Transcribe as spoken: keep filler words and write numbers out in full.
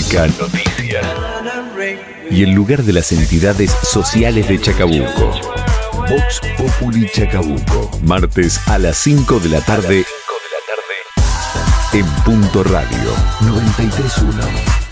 música, noticias y el lugar de las entidades sociales de Chacabuco. Vox Populi Chacabuco, martes a las cinco de la tarde en Punto Radio noventa y tres punto uno.